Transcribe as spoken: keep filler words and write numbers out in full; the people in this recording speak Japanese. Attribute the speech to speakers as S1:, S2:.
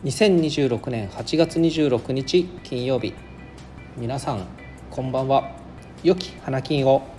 S1: にせんにじゅうろくねんはちがつにじゅうろくにち金曜日、皆さんこんばんは。良き花金を。